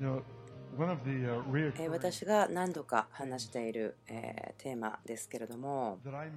私が何度か話しているテーマですけれども、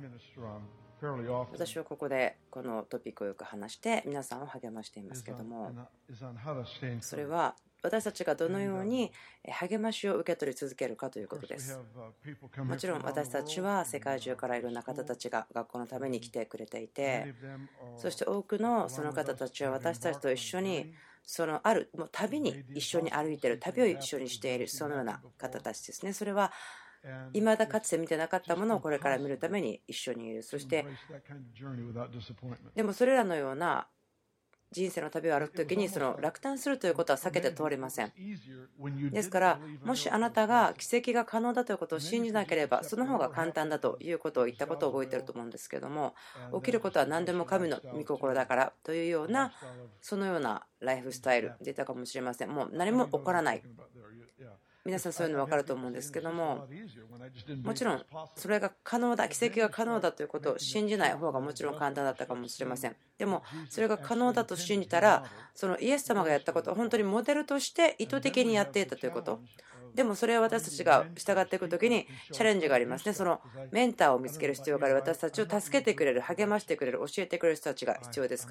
私はここでこのトピックをよく話して皆さんを励ましていますけれども、それは私たちがどのように励ましを受け取り続けるかということです。もちろん私たちは世界中からいろんな方たちが学校のために来てくれていて、そして多くのその方たちは私たちと一緒にもう旅に一緒に歩いている、旅を一緒にしている、そのような方たちですね。それは未だかつて見てなかったものをこれから見るために一緒にいる。そしてでもそれらのような人生の旅を歩くときに落胆するということは避けて通れません。ですからもしあなたが奇跡が可能だということを信じなければ、その方が簡単だということを言ったことを覚えていると思うんですけども、起きることは何でも神の御心だからというような、そのようなライフスタイルでいたかもしれません。もう何も起こらない、皆さんそういうの分かると思うんですけども、もちろんそれが可能だ、奇跡が可能だということを信じない方がもちろん簡単だったかもしれません。でもそれが可能だと信じたら、そのイエス様がやったことは本当にモデルとして意図的にやっていたということ。でもそれは私たちが従っていくときにチャレンジがありますね。そのメンターを見つける必要がある。私たちを助けてくれる、励ましてくれる、教えてくれる人たちが必要ですから、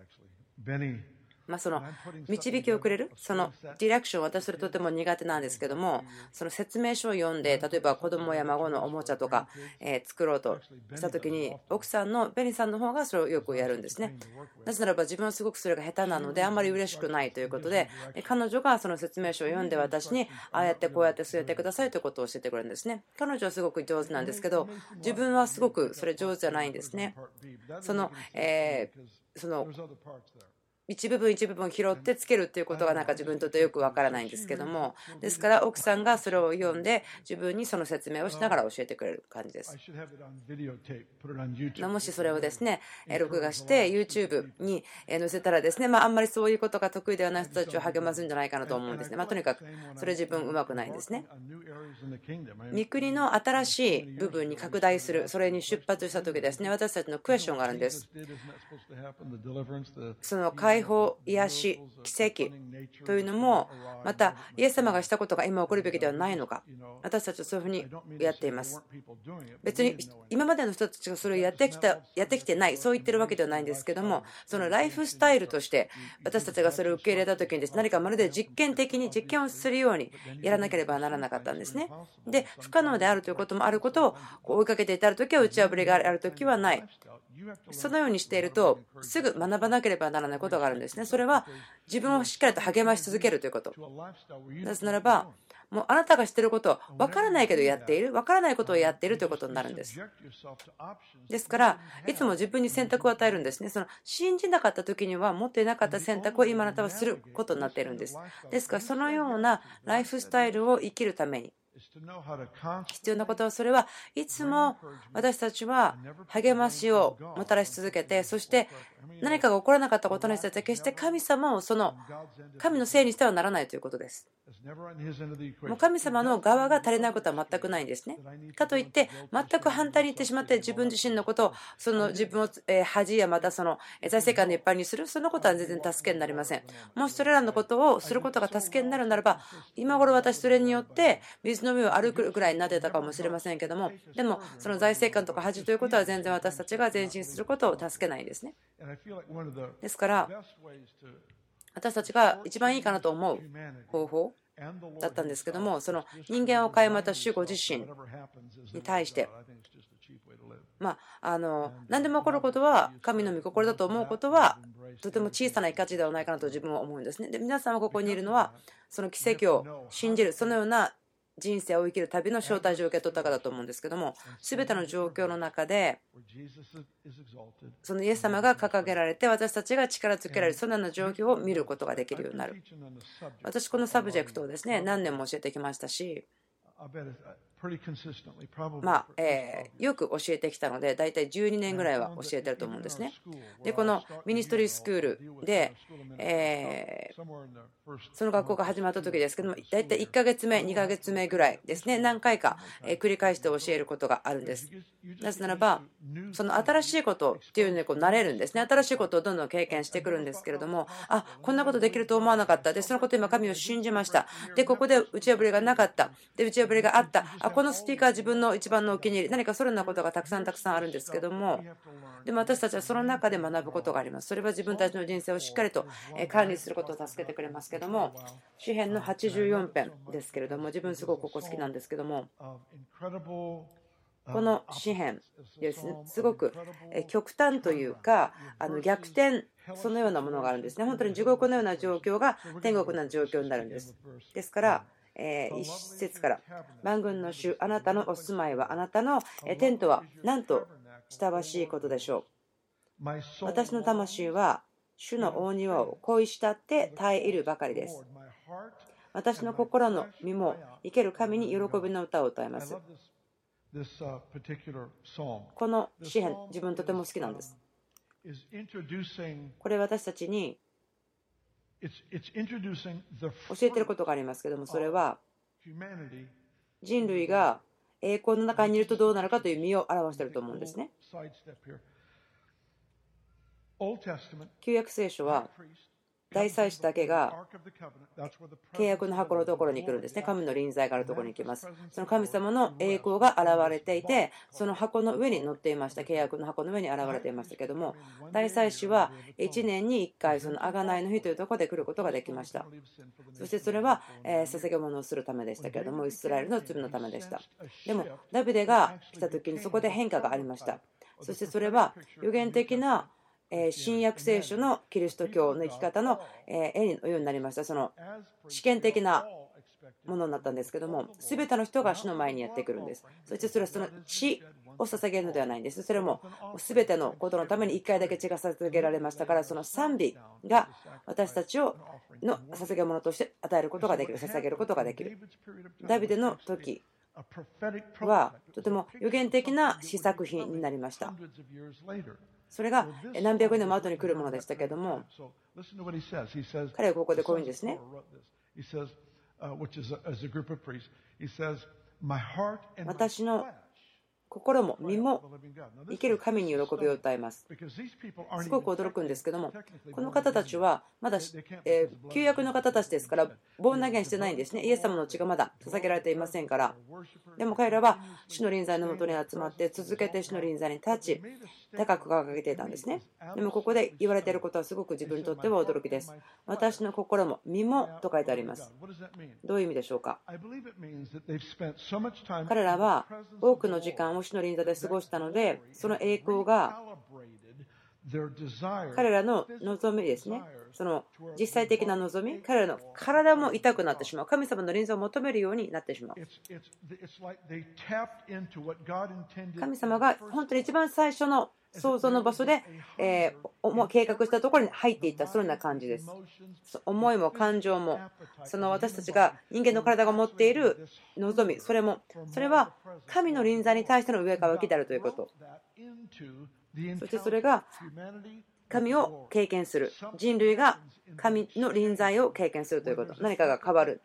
その導きをくれる、そのディレクション、私それとても苦手なんですけども、その説明書を読んで、例えば子供や孫のおもちゃとか作ろうとしたときに、奥さんのベニさんの方がそれをよくやるんですね。なぜならば自分はすごくそれが下手なのであんまり嬉しくないということで、彼女がその説明書を読んで私にああやってこうやってそうやってくださいということを教えてくれるんですね。彼女はすごく上手なんですけど、自分はすごくそれ上手じゃないんですね。その一部分一部分拾ってつけるということが自分にとってよくわからないんですけども、ですから奥さんがそれを読んで自分にその説明をしながら教えてくれる感じです。もしそれをですね録画して YouTube に載せたらですね、あんまりそういうことが得意ではない人たちを励ますんじゃないかなと思うんですね。とにかくそれ自分うまくないんですね。御国の新しい部分に拡大する、それに出発した時ですね、私たちのクエスチョンがあるんです。その解放、癒し、奇跡というのもまたイエス様がしたことが今起こるべきではないのか。私たちはそういうふうにやっています。別に今までの人たちがそれをやってきてない、そう言ってるわけではないんですけども、そのライフスタイルとして私たちがそれを受け入れた時にです、何かまるで実験的に実験をするようにやらなければならなかったんですね。で、不可能であるということもあることを追いかけて至る時は打ち破りがある時はない。そのようにしているとすぐ学ばなければならないことがあるんですね。それは自分をしっかりと励まし続けるということ。なぜならばもうあなたが知っていることを分からないけどやっている、分からないことをやっているということになるんです。ですからいつも自分に選択を与えるんですね。その信じなかった時には持っていなかった選択を今あなたはすることになっているんです。ですからそのようなライフスタイルを生きるために必要なことは、それはいつも私たちは励ましをもたらし続けて、そして何かが起こらなかったことにしては決して神様をその神のせいにしてはならないということです。もう神様の側が足りないことは全くないんですね。かといって全く反対に言ってしまって自分自身のことを自分を恥やまた財政官の一般にする、そのことは全然助けになりません。もしそれらのことをすることが助けになるならば、今頃私それによって水の上を歩くぐらいになってたかもしれませんけども、でもその財政官とか恥ということは全然私たちが前進することを助けないんですね。ですから私たちが一番いいかなと思う方法だったんですけども、その人間を変えまた主ご自身に対して何でも起こることは神の御心だと思うことはとても小さな価値ではないかなと自分は思うんですね。で、皆さんはここにいるのはその奇跡を信じる、そのような人生を生きる旅の招待状を受け取ったかだと思うんですけども、全ての状況の中でそのイエス様が掲げられて私たちが力づけられる、そのような状況を見ることができるようになる。私このサブジェクトをですね何年も教えてきましたし、 よく教えてきたので、だいたい12年ぐらいは教えてると思うんですね。で、このミニストリースクールで、その学校が始まった時ですけども、だいたい1ヶ月目、2ヶ月目ぐらいですね、何回か繰り返して教えることがあるんです。なぜならば、その新しいことっていうのに慣れるんですね。新しいことをどんどん経験してくるんですけれども、こんなことできると思わなかった。で、そのこと今神を信じました。で、ここで打ち破りがなかった。で、打ち破りがあった。このスピーカー自分の一番のお気に入り。何かそのようなことがたくさんあるんですけども、でも私たちはその中で学ぶことがあります。それは自分たちの人生をしっかりと管理することを助けてくれますけども、詩編の84編ですけれども、自分すごくここ好きなんですけども、この詩編ですね、すごく極端というか逆転、そのようなものがあるんですね。本当に地獄のような状況が天国のような状況になるんです。ですから一節から、万軍の主、あなたのお住まいは、あなたのテントはなんと親しいことでしょう。私の魂は主の大庭を恋したって耐え入るばかりです。私の心の身も生ける神に喜びの歌を歌います。この詩編、自分とても好きなんです。これ私たちに教えていることがありますけども、それは人類が栄光の中にいるとどうなるかという身を表していると思うんですね。旧約聖書は大祭司だけが契約の箱のところに来るんですね。神の臨在があるところに行きます。その神様の栄光が現れていて、その箱の上に乗っていました。契約の箱の上に現れていましたけども、大祭司は1年に1回その贖いの日というところで来ることができました。そしてそれは捧げ物をするためでしたけれども、イスラエルの罪のためでした。でもダビデが来た時にそこで変化がありました。そしてそれは予言的な新約聖書のキリスト教の生き方の絵のようになりました。その試験的なものになったんですけども、全ての人が主の前にやってくるんです。そしてそれはその血を捧げるのではないんです。それも全てのことのために1回だけ血が捧げられましたから、その賛美が私たちをの捧げ物として与えることができる、捧げることができる。ダビデの時はとても予言的な詩作品になりました。それが何百年も後に来るものでしたけれども、彼はここでこういうんですね。私の心も身も生ける神に喜びを歌います。すごく驚くんですけども、この方たちはまだ旧約の方たちですから、ボーン投げしてないんですね。イエス様の血がまだ捧げられていませんから。でも彼らは主の臨在のもとに集まって、続けて主の臨在に立ち、高く掲げていたんですね。でもここで言われていることはすごく自分にとっては驚きです。私の心も身もと書いてあります。どういう意味でしょうか。彼らは多くの時間を主の臨在で過ごしたので、その栄光が彼らの望みですね。その実際的な望み、彼らの体も痛くなってしまう。神様の臨在を求めるようになってしまう。神様が本当に一番最初の創造の場所で計画したところに入っていった、そんな感じです。思いも感情も、その私たちが人間の体が持っている望み、それは神の臨在に対しての上からきであるということ。そしてそれが神を経験する、人類が神の臨在を経験するということ、何かが変わる。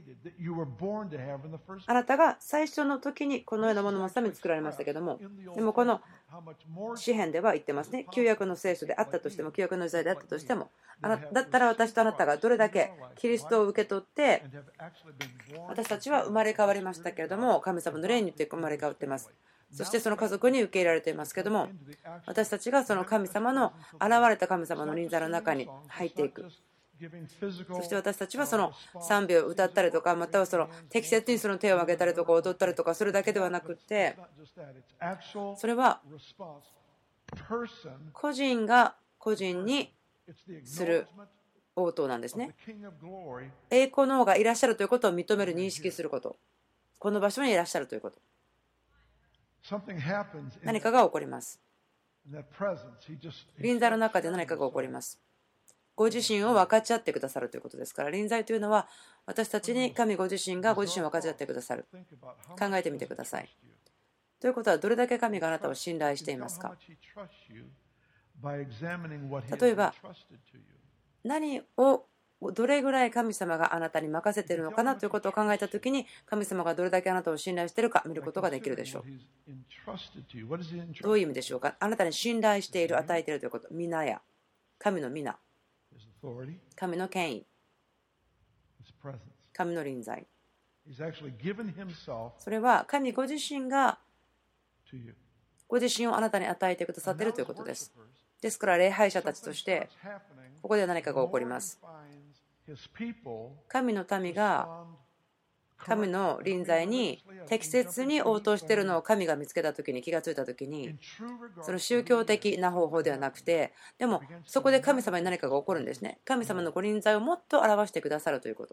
あなたが最初の時にこのようなもののために作られましたけども、でもこの詩編では言ってますね。旧約の聖書であったとしても、旧約の時代であったとしても、だったら私とあなたがどれだけキリストを受け取って、私たちは生まれ変わりましたけれども、神様の霊によって生まれ変わっています。そしてその家族に受け入れられていますけども、私たちがその神様の現れた神様の臨在の中に入っていく。そして私たちはその賛美を歌ったりとか、またはその適切にその手を挙げたりとか踊ったりとか、それだけではなくて、それは個人が個人にする応答なんですね。栄光の王がいらっしゃるということを認める、認識すること、この場所にいらっしゃるということ、何かが起こります。臨在の中で何かが起こります。 ご自身を分かち合ってくださるということですから、臨在というのは私たちに神ご自身がご自身を分かち合ってくださる。考えてみてください。ということは、どれだけ神があなたを信頼していますか。例えば、何をどれぐらい神様があなたに任せているのかなということを考えたときに、神様がどれだけあなたを信頼しているか見ることができるでしょう。どういう意味でしょうか。あなたに信頼している、与えているということ。皆や神の皆、神の権威、神の臨在。それは神ご自身がご自身をあなたに与えてくださっているということです。ですから礼拝者たちとしてここで何かが起こります。神の民が神の臨在に適切に応答しているのを神が見つけたときに、気がついたときに、その宗教的な方法ではなくて、でもそこで神様に何かが起こるんですね。神様のご臨在をもっと表してくださるということ。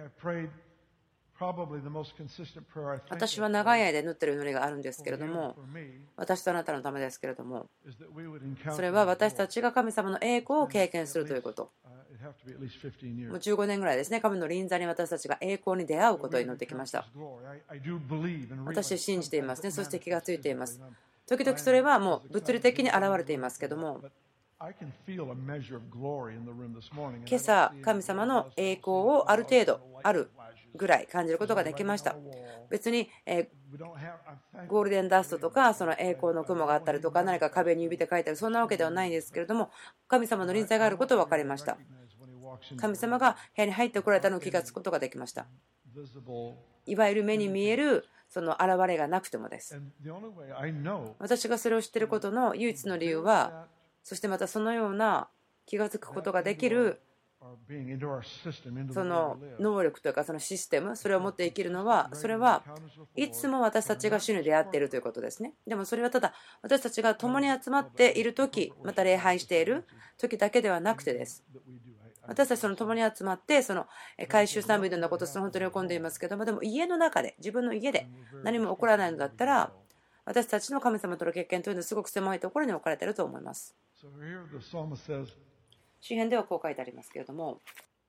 私は長い間祈っている祈りがあるんですけれども、私とあなたのためですけれども、それは私たちが神様の栄光を経験するということ。もう15年ぐらいですね、神の臨在に私たちが栄光に出会うことを祈ってきました。私信じていますね。そして気がついています。時々それはもう物理的に現れていますけども、今朝神様の栄光をある程度あるぐらい感じることができました。別にゴールデンダストとかその栄光の雲があったりとか、何か壁に指で書いたり、そんなわけではないんですけれども、神様の臨在があることが分かりました。神様が部屋に入ってこられたのを気がつくことができました。いわゆる目に見えるその現れがなくてもです。私がそれを知っていることの唯一の理由は、そしてまたそのような気が付くことができるその能力というか、そのシステム、それを持って生きるのは、それはいつも私たちが主に出会っているということですね。でもそれはただ私たちが共に集まっている時、また礼拝している時だけではなくてです。私たちその共に集まってその回収賛美のようなことを本当に喜んでいますけども、でも家の中で、自分の家で何も起こらないのだったら、私たちの神様との経験というのはすごく狭いところに置かれていると思います。詩編ではこう書いてありますけれども、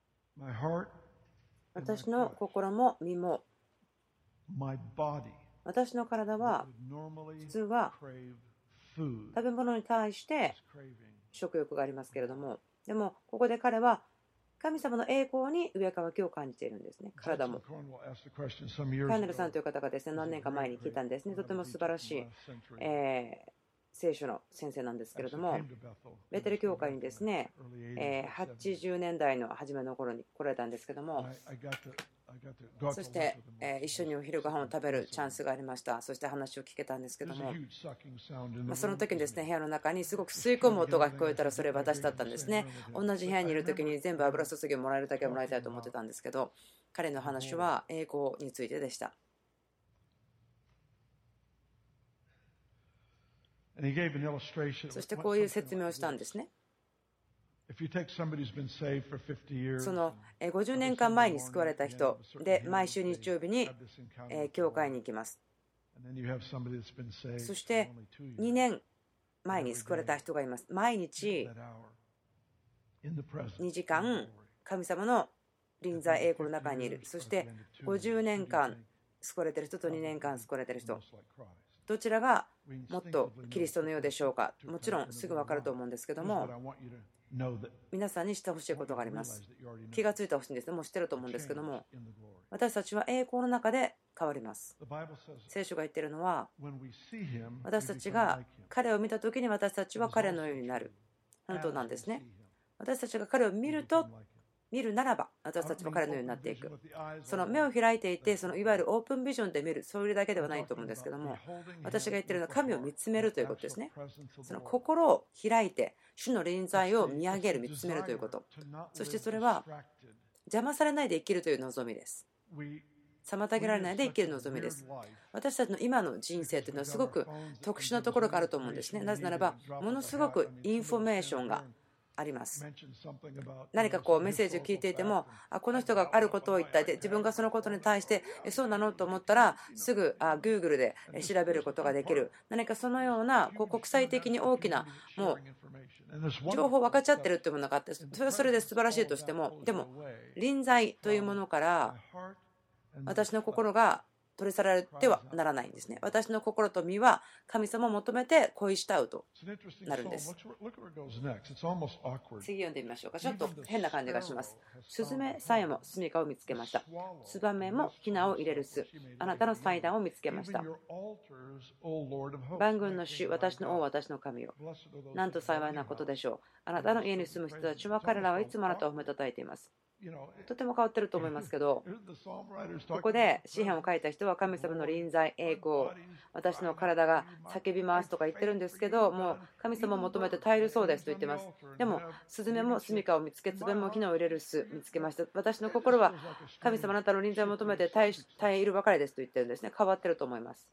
私の心も身も、私の体は普通は食べ物に対して食欲がありますけれども、でもここで彼は神様の栄光に上かわきを感じているんですね。体も。カーネルさんという方がですね、何年か前に聞いたんですね。とても素晴らしい、聖書の先生なんですけれども、ベテル教会にですね、80年代の初めの頃に来られたんですけども、そして一緒にお昼ご飯を食べるチャンスがありました。そして話を聞けたんですけども、その時にですね、部屋の中にすごく吸い込む音が聞こえたら、それ私だったんですね。同じ部屋にいる時に全部油注ぎをもらえるだけもらいたいと思ってたんですけど、彼の話は栄光についてでした。そしてこういう説明をしたんですね。その50年間前に救われた人で、毎週日曜日に教会に行きます。そして2年前に救われた人がいます。毎日2時間神様の臨在栄光の中にいる。そして50年間救われている人と2年間救われている人、どちらがもっとキリストのようでしょうか。もちろんすぐ分かると思うんですけども、皆さんにしてほしいことがあります。気がついてほしいんですね。もう知ってると思うんですけども、私たちは栄光の中で変わります。聖書が言っているのは、私たちが彼を見たときに私たちは彼のようになる。本当なんですね。私たちが彼を見るならば、私たちは彼のようになっていく。その目を開いていて、そのいわゆるオープンビジョンで見る、そういうだけではないと思うんですけども、私が言っているのは神を見つめるということですね。その心を開いて、主の臨在を見上げる、見つめるということ。そしてそれは邪魔されないで生きるという望みです。妨げられないで生きる望みです。私たちの今の人生というのはすごく特殊なところがあると思うんですね。なぜならば、ものすごくインフォメーションがあります。何かこうメッセージを聞いていても、この人があることを言ったで、自分がそのことに対してそうなのと思ったらすぐGoogle で調べることができる、何かそのようなこう国際的に大きなもう情報分かっちゃってるっていうものがあって、それはそれで素晴らしいとしても、でも臨在というものから私の心が取り去られてはならないんですね。私の心と身は神様を求めて恋したうとなるんです。次読んでみましょうか。ちょっと変な感じがします。スズメさえも住処を見つけました。ツバメもヒナを入れる巣、あなたの祭壇を見つけました。万軍の主、私の王、私の神よ。なんと幸いなことでしょう。あなたの家に住む人たちは、彼らはいつもあなたを褒めたたえています。とても変わってると思いますけど、ここで詩篇を書いた人は神様の臨在、栄光、私の体が叫びますとか言ってるんですけど、もう神様を求めて耐えるそうですと言ってます。でもスズメも住処を見つけ、ツバメもヒナを入れる巣見つけました。私の心は神様あなたの臨在を求めて耐えるばかりですと言ってるんですね。変わってると思います。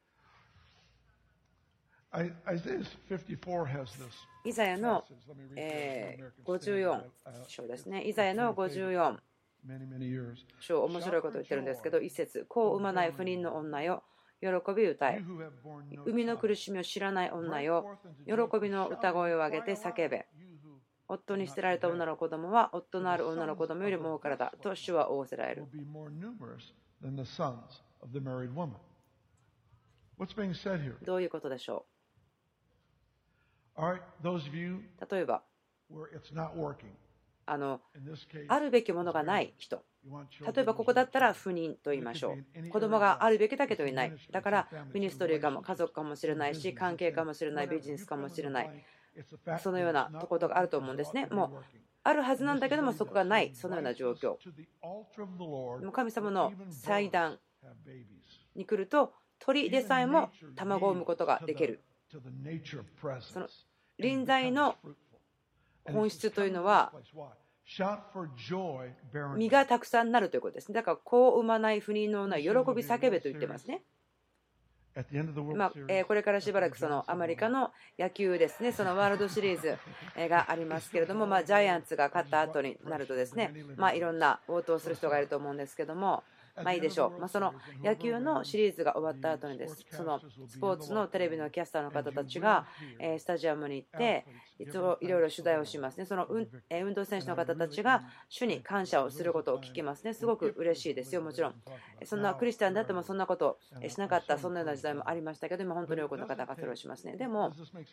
イザヤの54章ですね。イザヤの54章、面白いことを言ってるんですけど、一節、子を産まない不妊の女よ、喜び歌え。産みの苦しみを知らない女よ、喜びの歌声を上げて叫べ。夫に捨てられた女の子供は、夫のある女の子供よりも多からだと主は仰せられる。どういうことでしょう。例えばあるべきものがない人、例えばここだったら不妊と言いましょう。子供があるべきだけどいない。だからミニストリーかも家族かもしれないし、関係かもしれない、ビジネスかもしれない、そのようなところがあると思うんですね。もうあるはずなんだけどもそこがない、そのような状況。でも神様の祭壇に来ると鳥でさえも卵を産むことができる。その臨在の本質というのは実がたくさんなるということですね。だから子を産まない不妊の女、喜び叫べと言ってますね。これからしばらくそのアメリカの野球ですね、そのワールドシリーズがありますけれども、ジャイアンツが勝った後になるとですね、いろんな応答する人がいると思うんですけども、いいでしょう。その野球のシリーズが終わった後にです、そのスポーツのテレビのキャスターの方たちがスタジアムに行っていつもいろいろ取材をしますね。その運動選手の方たちが主に感謝をすることを聞きますね。すごく嬉しいですよ。もちろんそんなクリスチャンであってもそんなことをしなかった、そんなような時代もありましたけど、今本当に多くの方がそれをしますね。でも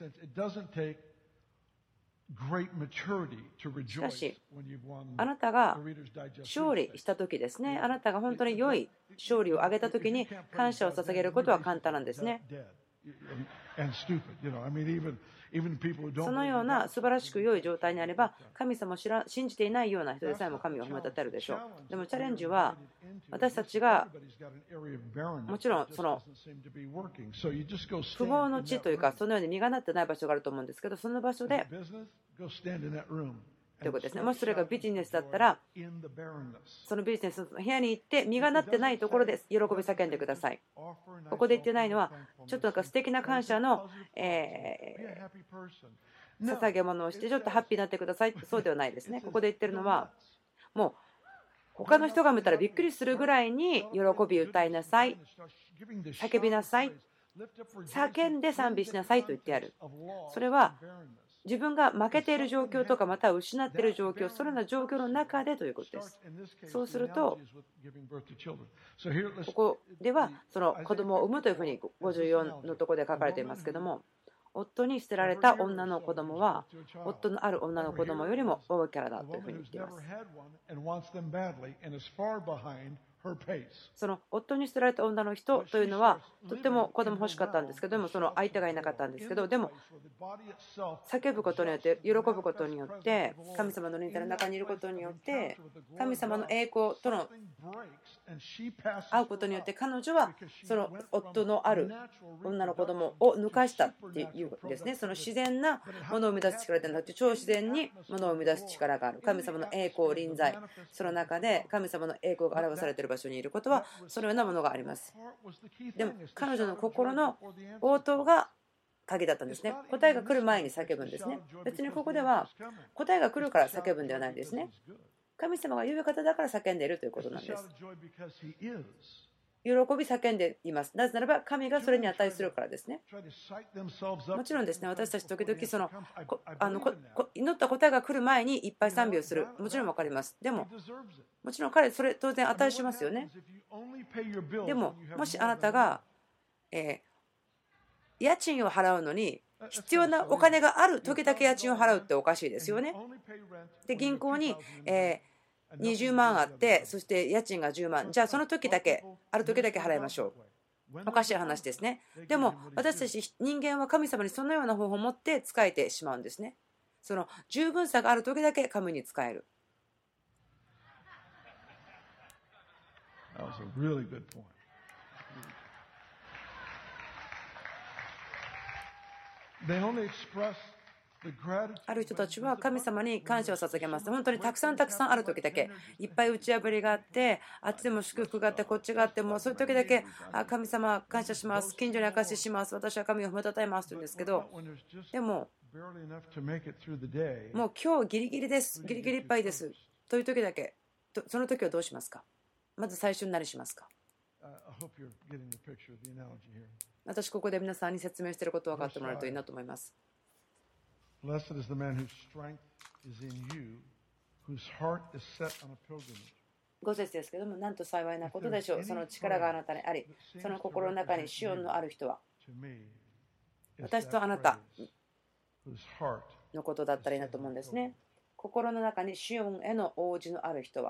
しかしあなたが勝利した時ですね、あなたが本当に良い勝利を挙げた時に感謝を捧げることは簡単なんですね。そのような素晴らしく良い状態にあれば神様を信じていないような人でさえも神を褒めたたえるでしょう。でもチャレンジは私たちがもちろんその不毛の地というかそのように実がなってない場所があると思うんですけど、その場所でということですね。もしそれがビジネスだったらそのビジネスの部屋に行って実がなってないところで喜び叫んでください。ここで言ってないのはちょっと素敵な感謝の捧げ物をしてちょっとハッピーになってください、そうではないですね。ここで言ってるのはもう他の人が見たらびっくりするぐらいに喜び歌いなさい、叫びなさい、叫んで賛美しなさいと言ってある。それは自分が負けている状況とかまたは失っている状況、そのような状況の中でということです。そうするとここではその子供を産むというふうに54のところで書かれていますけども、夫に捨てられた女の子供は夫のある女の子供よりも多いからだというふうに言っています。その夫に捨てられた女の人というのはとっても子供欲しかったんですけども、その相手がいなかったんですけど、でも叫ぶことによって喜ぶことによって神様の臨在の中にいることによって神様の栄光との会うことによって彼女はその夫のある女の子供を抜かしたっていうんですね。その自然なものを生み出す力ではなくて超自然にものを生み出す力がある神様の栄光臨在、その中で神様の栄光が表されている場所にいることはそのようなものがあります。でも彼女の心の応答が鍵だったんですね。答えが来る前に叫ぶんですね。別にここでは答えが来るから叫ぶんではないんですね。神様が言う方だから叫んでいるということなんです。喜び叫んでいます。なぜならば神がそれに値するからですね。もちろんですね、私たち時々祈った答えが来る前にいっぱい賛美をする。もちろん分かります。でも、もちろん彼、それ当然値しますよね。でも、もしあなたが、家賃を払うのに必要なお金がある時だけ家賃を払うっておかしいですよね。で、銀行に、20万あって、そして家賃が10万。じゃあその時だけ、ある時だけ払いましょう。おかしい話ですね。でも私たち人間は神様にそのような方法を持って仕えてしまうんですね。その十分さがある時だけ神に仕える。ある人たちは神様に感謝を捧げます。本当にたくさんある時だけ、いっぱい打ち破りがあって、あっちでも祝福があって、こっちがあって、もうそういう時だけ、神様感謝します、近所に証しします、私は神を褒めたたえますと言うんですけど、でも、もう今日ギリギリです、ギリギリいっぱいですという時だけ、その時はどうしますか？まず最初に何しますか？私、ここで皆さんに説明していることを分かってもらえるといいなと思います。Blessed is the man whose strength is in you, whose heart is set on a pilgrimage. 5節ですけども、なんと幸いなことでしょう。その力があなたにあり、その心の中にシオンのある人は、私とあなたのことだったらいいなと思うんですね。心の中にシオンへの応じのある人は、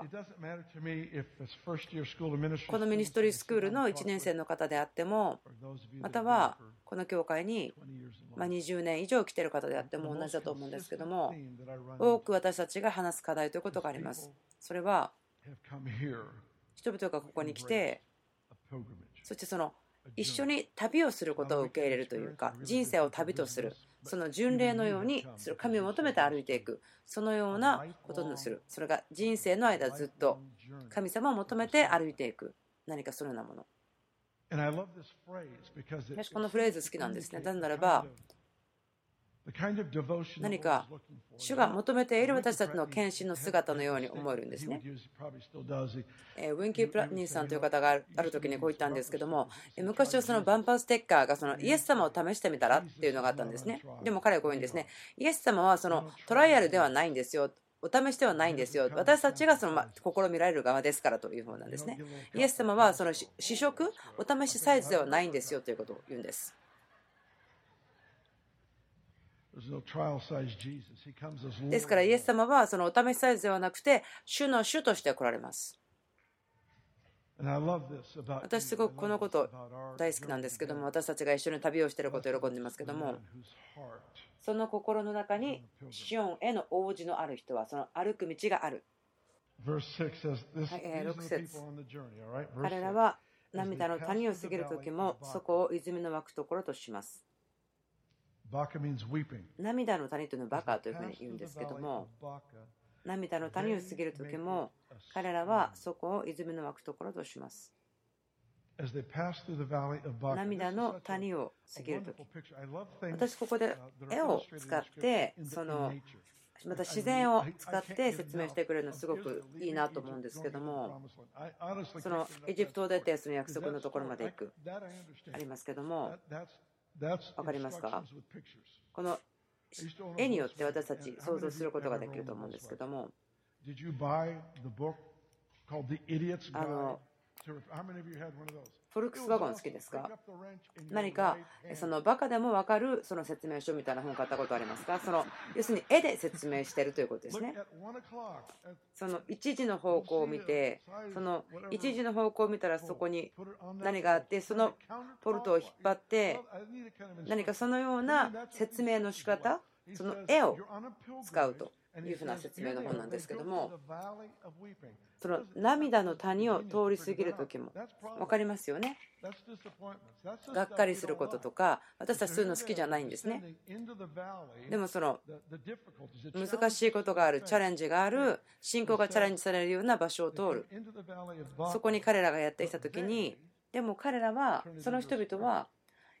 このミニストリースクールの1年生の方であっても、またはこの教会に20年以上来ている方であっても同じだと思うんですけども、多く私たちが話す課題ということがあります。それは人々がここに来て、そして一緒に旅をすることを受け入れるというか、人生を旅とする、その巡礼のようにする、神を求めて歩いていく、そのようなことにする。それが人生の間ずっと神様を求めて歩いていく、何かそのようなもの。私このフレーズ好きなんですね。なぜならば、何か主が求めている私たちの献身の姿のように思えるんですね。ウィンキー・プラッニーさんという方がある時にこう言ったんですけども、昔はそのバンパーステッカーがイエス様を試してみたらっていうのがあったんですね。でも彼はこう言うんですね。イエス様はトライアルではないんですよ。お試しではないんですよ。私たちが試みられる側ですからというふうなんですね。イエス様は試食、お試しサイズではないんですよということを言うんです。ですからイエス様はそのお試しサイズではなくて主の主として来られます。私すごくこのこと大好きなんですけども、私たちが一緒に旅をしていることを喜んでいますけども、その心の中にシオンへの応じのある人はその歩く道がある。6節、彼らは涙の谷を過ぎる時もそこを泉の湧くところとします。涙の谷というのはバカというふうに言うんですけども、涙の谷を過ぎる時も彼らはそこを泉の湧くところとします。涙の谷を過ぎるとき、私ここで絵を使ってまた自然を使って説明してくれるのすごくいいなと思うんですけども、エジプトを出てその約束のところまで行くありますけども、分かりますか？この絵によって私たち想像することができると思うんですけども、フォルクスワゴン好きですか？何かバカでも分かる説明書みたいな本を買ったことありますか？要するに絵で説明しているということですね。1時の方向を見て、1時の方向を見たらそこに何があって、そのポルトを引っ張って何かそのような説明の仕方、その絵を使うというふうな説明の本なんですけども、その涙の谷を通り過ぎる時も分かりますよね。がっかりすることとか、私たちそういうの好きじゃないんですね。でも難しいことがある、チャレンジがある、信仰がチャレンジされるような場所を通る、そこに彼らがやってきた時に、でも彼らはその人々は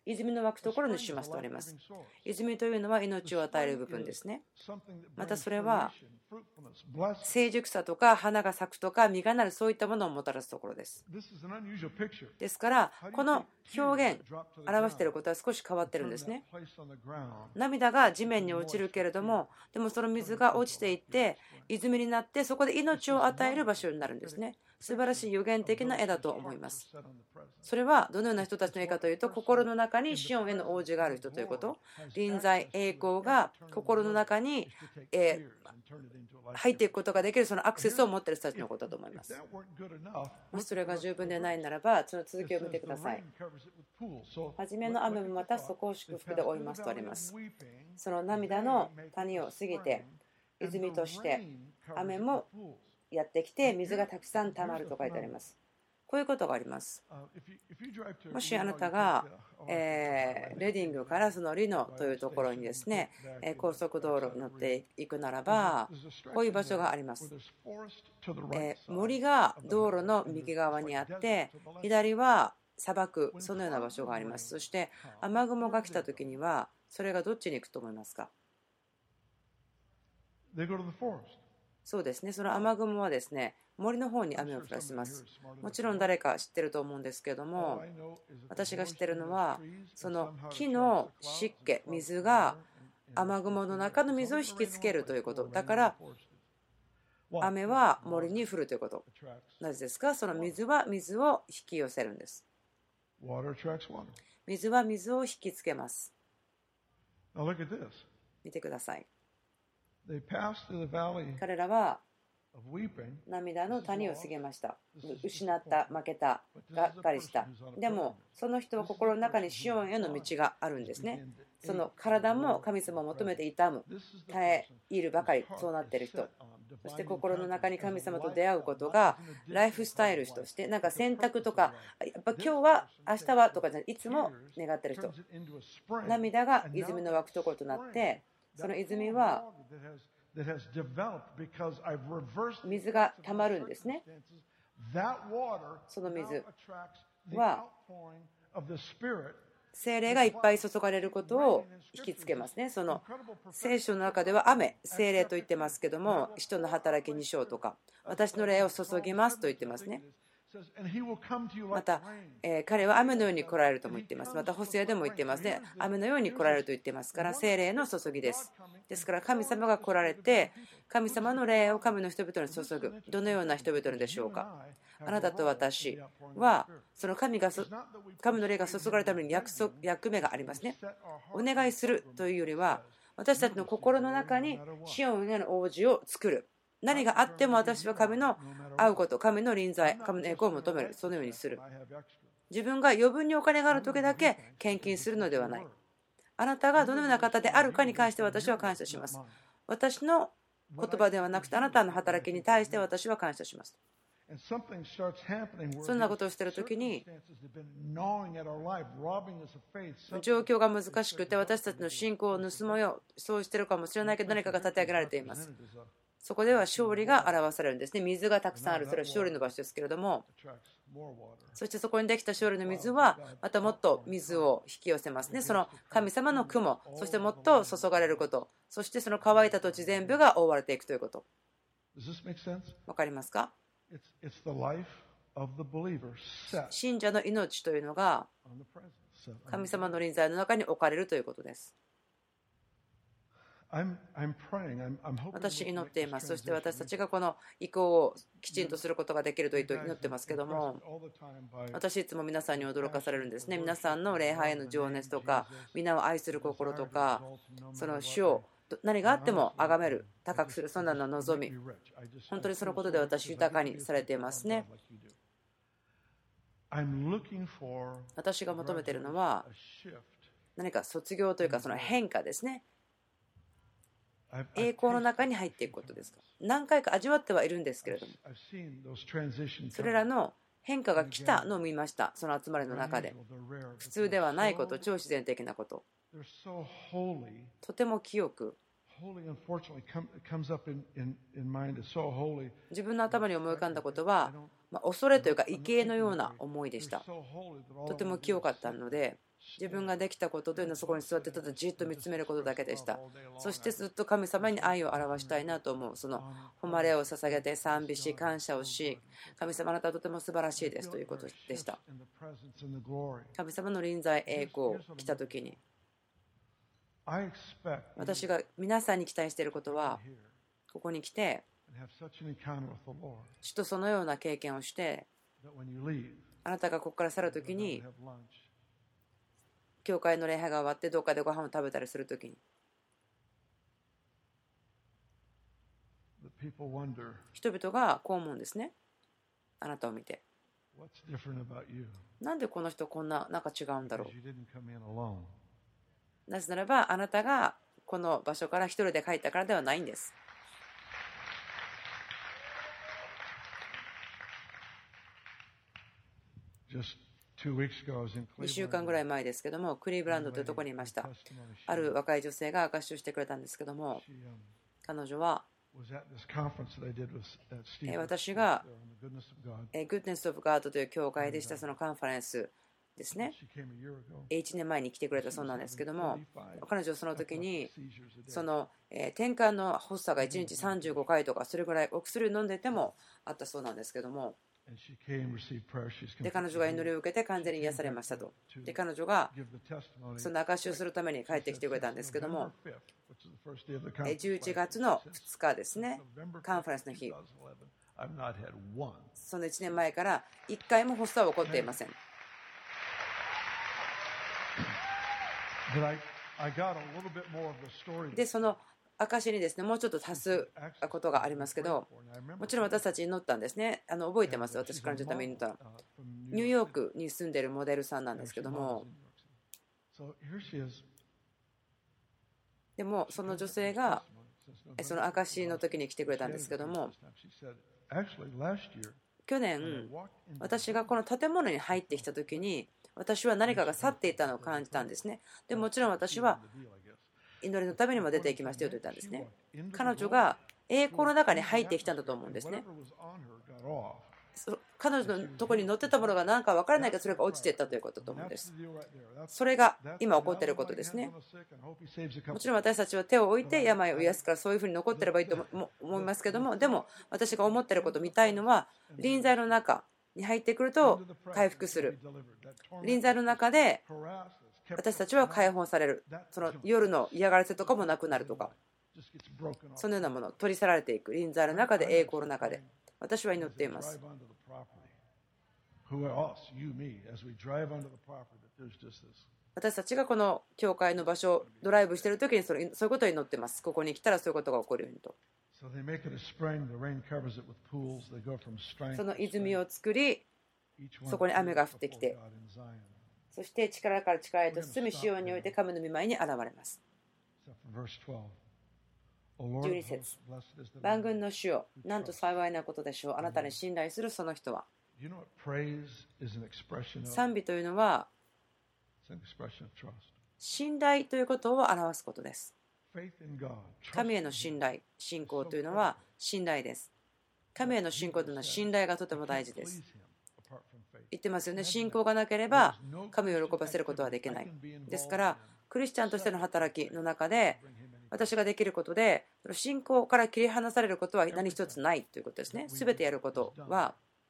泉の湧くところにしますとあります。泉というのは命を与える部分ですね。またそれは成熟さとか花が咲くとか実がなる、そういったものをもたらすところです。ですからこの表現表していることは少し変わってるんですね。涙が地面に落ちるけれども、でもその水が落ちていって泉になって、そこで命を与える場所になるんですね。素晴らしい予言的な絵だと思います。それはどのような人たちの絵かというと、心の中にシオンへの応じがある人ということ、臨在栄光が心の中に入っていくことができる、そのアクセスを持っている人たちのことだと思います。もしそれが十分でないならば、その続きを見てください。初めの雨もまたそこを祝福で追いますとあります。その涙の谷を過ぎて泉として雨もやってきて水がたくさんたまると書いてあります。こういうことがあります。もしあなたがレディングからそのリノというところにですね、高速道路に乗っていくならば、こういう場所があります。森が道路の右側にあって、左は砂漠、そのような場所があります。そして雨雲が来た時にはそれがどっちに行くと思いますか？そうですね、その雨雲はですね、森の方に雨を降らせます。もちろん誰か知ってると思うんですけれども、私が知ってるのは、その木の湿気、水が雨雲の中の水を引きつけるということ。だから雨は森に降るということ。なぜですか？その水は水を引き寄せるんです。水は水を引きつけます。見てください。彼らは涙の谷を過ぎました。失った、負けた、がっかりした。でもその人は心の中にシオンへの道があるんですね。その体も神様を求めて痛む、耐え入るばかり、そうなっている人、そして心の中に神様と出会うことがライフスタイルとして、なんか選択とか、やっぱ今日は明日はとかじゃない、いつも願っている人、涙が泉の湧くところとなって、その泉は水がたまるんですね。その水は聖霊がいっぱい注がれることを引きつけますね。その聖書の中では雨、聖霊と言ってますけども、使徒の働き2章とか、私の霊を注ぎますと言ってますね。また、彼は雨のように来られるとも言っています。また、ホセアでも言っていますね。雨のように来られると言っていますから、聖霊の注ぎです。ですから、神様が来られて、神様の霊を神の人々に注ぐ。どのような人々でしょうか。あなたと私は、その神の霊が注がれるために役目がありますね。お願いするというよりは、私たちの心の中にシオンへの応じを作る。何があっても私は神の会うこと、神の臨在、神の栄光を求める、そのようにする。自分が余分にお金がある時だけ献金するのではない。あなたがどのような方であるかに関して私は感謝します。私の言葉ではなくてあなたの働きに対して私は感謝します。そんなことをしているときに状況が難しくて私たちの信仰を盗もうよう、そうしているかもしれないけど何かが立て上げられています。そこでは勝利が表されるんですね。水がたくさんある、それは勝利の場所ですけれども、そしてそこにできた勝利の水はまたもっと水を引き寄せますね。その神様の雲、そしてもっと注がれること、そしてその乾いた土地全部が覆われていくということ。わかりますか？信者の命というのが神様の臨在の中に置かれるということです。私祈っています。そして私たちがこの意向をきちんとすることができると祈ってますけども、私いつも皆さんに驚かされるんですね。皆さんの礼拝への情熱とか、皆を愛する心とか、その主を何があっても崇める、高くする、そんなの望み、本当にそのことで私豊かにされていますね。私が求めているのは何か卒業というかその変化ですね。栄光の中に入っていくことですか。何回か味わってはいるんですけれども、それらの変化が来たのを見ました。その集まりの中で普通ではないこと、超自然的なこと、とても清く、自分の頭に思い浮かんだことは恐れというか畏敬のような思いでした。とても清かったので、 自分ができたことというのはそこに座ってただじっと見つめることだけでした。そしてずっと神様に愛を表したいなと思う。その誉れを捧げて賛美し感謝をし、神様あなたはとても素晴らしいですということでした。神様の臨在栄光来た時に私が皆さんに期待していることは、ここに来て主とそのような経験をして、あなたがここから去るときに教会の礼拝が終わってどっかでご飯を食べたりするときに人々がこう思うんですね。あなたを見て、なんでこの人こんななんか違うんだろう。なぜならばあなたがこの場所から一人で帰ったからではないんです。2週間ぐらい前ですけども、クリーブランドというところにいました。ある若い女性が証しをしてくれたんですけども、彼女は私がGoodness of God という教会でしたそのカンファレンスですね、1年前に来てくれたそうなんですけども、彼女はその時にその転換の発作が1日35回とかそれぐらいお薬を飲んでてもあったそうなんですけども、で彼女が祈りを受けて完全に癒されましたと。で彼女がその証しをするために帰ってきてくれたんですけども、11月の2日ですね、カンファレンスの日、その1年前から1回も発作は起こっていません。でその証にですね、もうちょっと足すことがありますけど、もちろん私たちに祈ったんですね。覚えてます。私彼女のために祈ったの。ニューヨークに住んでいるモデルさんなんですけども、でもその女性がその証の時に来てくれたんですけども、去年私がこの建物に入ってきた時に私は何かが去っていたのを感じたんですね。でもちろん私は祈りのためにも出ていきましたよと言ったんですね。彼女が栄光の中に入ってきたんだと思うんですね。彼女のところに乗ってたものが何か分からないけどそれが落ちていったということだと思うんです。それが今起こっていることですね。もちろん私たちは手を置いて病を癒すからそういうふうに残ってればいいと思いますけども、でも私が思っていること見たいのは臨在の中に入ってくると回復する。臨在の中で私たちは解放される。その夜の嫌がらせとかもなくなるとか、そのようなもの取り去られていく。臨在の中で、栄光の中で私は祈っています。私たちがこの教会の場所をドライブしている時にそういうことを祈っています。ここに来たらそういうことが起こるようにと。その泉を作り、そこに雨が降ってきて、そして力から力へと進み、シオンにおいて神の御前に現れます。12節、万軍の主よ、なんと幸いなことでしょう。あなたに信頼するその人は。賛美というのは信頼ということを表すことです。神への信頼、信仰というのは信頼です。神への信仰というのは信頼がとても大事です。言ってますよね。信仰がなければ神を喜ばせることはできない。ですからクリスチャンとしての働きの中で私ができることで信仰から切り離されることは何一つないということですね。すべてやることは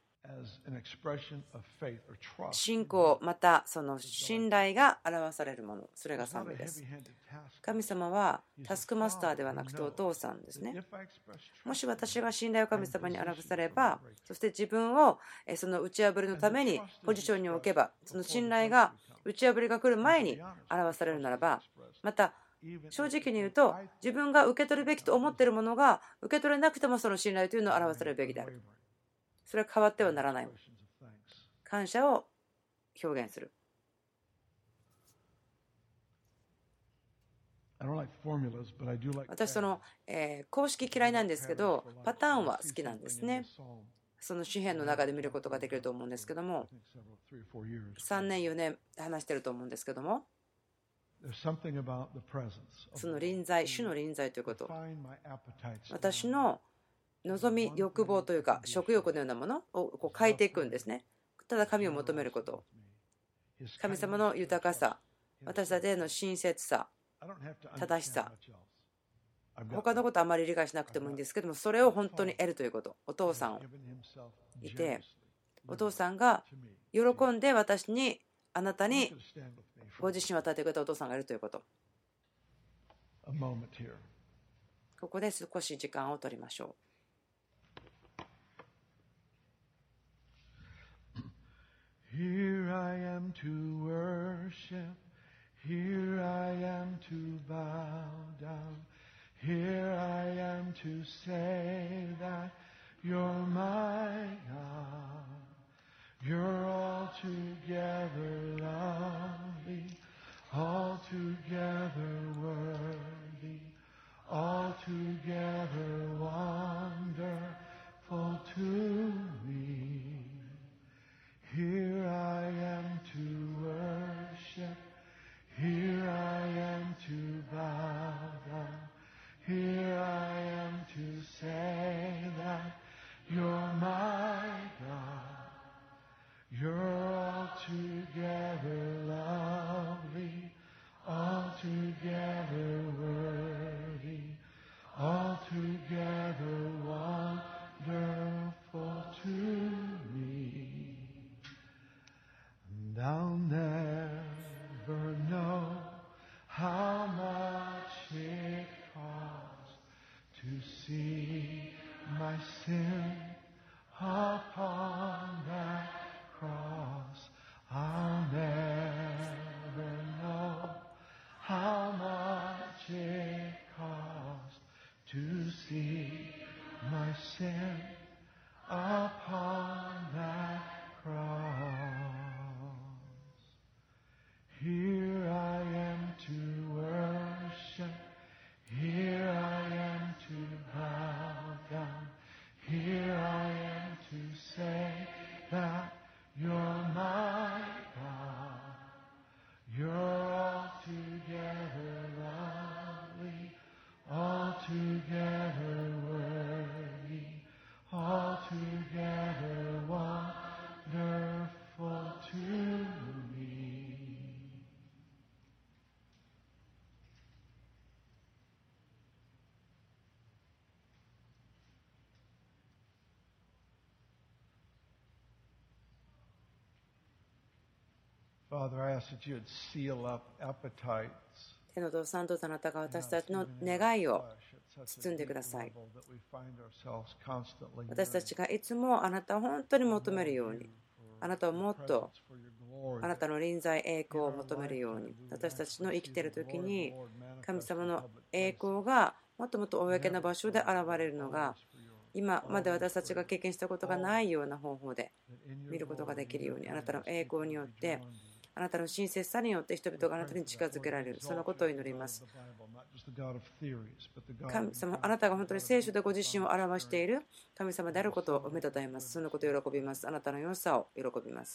信仰またその信頼が表されるもの、それが賛美です。神様はタスクマスターではなくてお父さんですね。もし私が信頼を神様に表されば、そして自分をその打ち破りのためにポジションに置けば、その信頼が打ち破りが来る前に表されるならば、また正直に言うと自分が受け取るべきと思っているものが受け取れなくてもその信頼というのを表されるべきである。それは変わってはならない。感謝を表現する。私その公式嫌いなんですけどパターンは好きなんですね。その詩篇の中で見ることができると思うんですけども、3年4年話してると思うんですけども、その臨在、主の臨在ということ、私の望み、欲望というか食欲のようなものをこう変えていくんですね。ただ神を求めること、神様の豊かさ、 私たちへの親切さ、正しさ、他のことあまり理解しなくてもいいんですけども、それを本当に得るということ。お父さんいて、お父さんが喜んで私に、あなたにご自身を与えてくれたお父さんがいるということ。ここで少し時間を取りましょう。 Here I am to worship, here I am to bow down, here I am to say that you're my God. You're altogether lovely, altogether worthy, altogether wonderful to me. Here I am to worship, here I am to bow down, here I am to say that you're my God. You're altogether lovely, altogether worthy, altogether wonderful to me. And I'll never know how much it costs to see my sin upon that cross. I'll never know how much it costs to see my sin upon that cross. Here I am to worship, here I am to bow down, here I am to say that you're my God. You're altogether lovely, altogether worthy, altogether wonderful to me. Father, I ask that you would seal up appetites. 天のお父さん、どうぞあなたが私たちの願いを包んでください。私たちがいつもあなたを本当に求めるように、あなたをもっとあなたの臨在栄光を求めるように、私たちの生きている時に神様の栄光がもっともっと公な場所で現れるのが、今まで私たちが経験したことがないような方法で見ることができるように、あなたの栄光によって、あなたの親切さによって人々があなたに近づけられる、そのことを祈ります。神様、あなたが本当に聖書でご自身を表している神様であることを褒めたたえます。そのことを喜びます。あなたの良さを喜びます。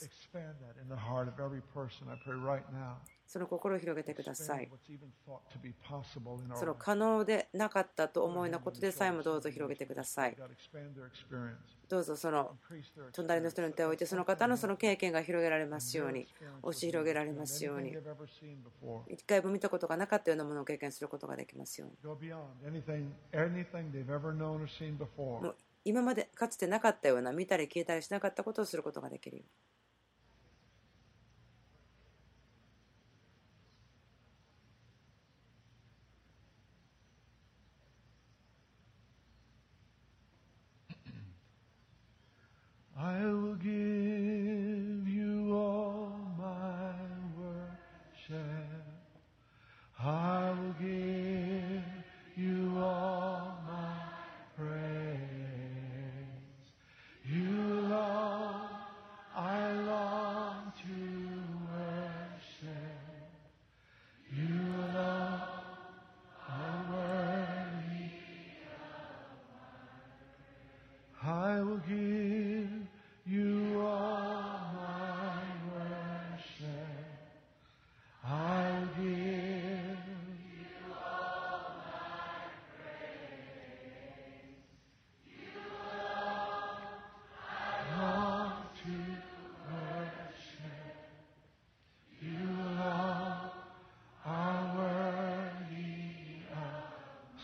その心を広げてください。その可能でなかったと思うようなことでさえもどうぞ広げてください。どうぞその隣の人に手を置いて、その方のその経験が広げられますように、押し広げられますように、一回も見たことがなかったようなものを経験することができますように。もう今までかつてなかったような、見たり聞いたりしなかったことをすることができるように。 I will give you all my worship. I will give you all my praise. You alone I long to worship. You alone are worthy. I will give you all my worship. I will give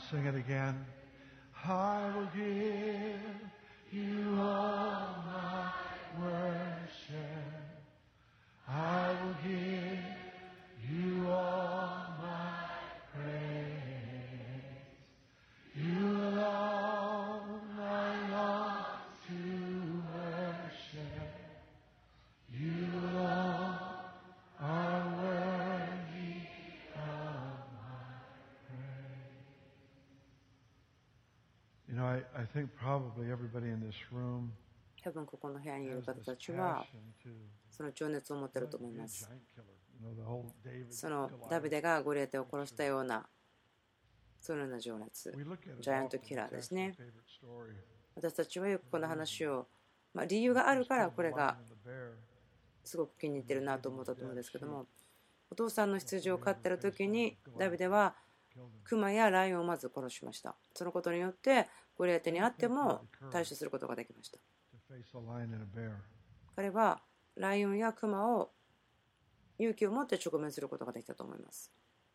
Sing it again. I will give you all my worship. I will give you all my praise. You alone I long to worship. You alone are worthy of my praise. You know, I think probably everybody in this room 多分ここの部屋にいる has 方 this たちは passion to その情熱を持っていると be 思い a ます。 giant killer. You know, the whole David その Goliath. ダビデがゴリアテを殺したようなそのような情熱、 We look at it ジャイアント often キラー as です actually a ね。 favorite story. 私たちはよくこの話を、理由があるからこれが The bear. すごく気に入ってるなと思ったと思うんですけども、お父さんの羊を飼ってる時にダビデはクマやライオンをまず殺しました。そのことによってゴリアテにあっても対処することができました。 To face a lion and a bear. 彼はライオンやクマを勇気を持って直面することができたと思います。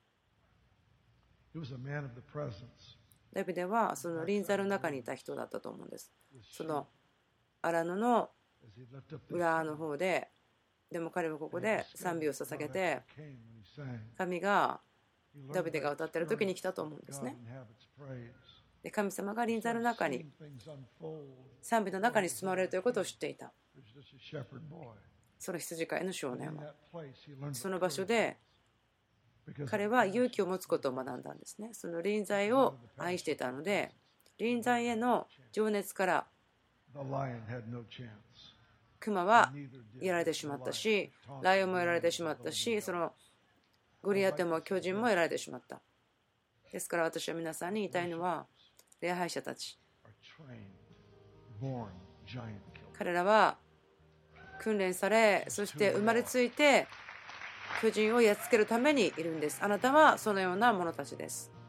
He was a man of the presence. ダビデはその臨在の中にいた人だったと思うんです。その荒野の As he lifted up the 裏の方で、でも彼はここで賛美を捧げて、 came when he sang. 神が He learned ダビデが that 歌っている時に来たと思うんです God ね。 inhabits praise. で神様が臨在の Started 中に seeing things unfold. 賛美の中に住まわれるということを知っていた。 He was just a shepherd boy. その羊飼いの少 But 年 in は that place, he learned そ the の場所 courage で because 彼は勇気を持つことを学んだんですね。その臨在を愛していたので、臨在への情熱から the lion had no chance. クマは Neither did やられてしまったし、ライオンもやられてしまったし、そのゴリアテも巨人もやられてしまった。ですから私は皆さんに言いたいのは、礼拝者たち、 are trained, born giant killers. 彼らは訓練され、そして生まれついて巨人をやっつけるためにいるんです。あなたはそのような者たちです。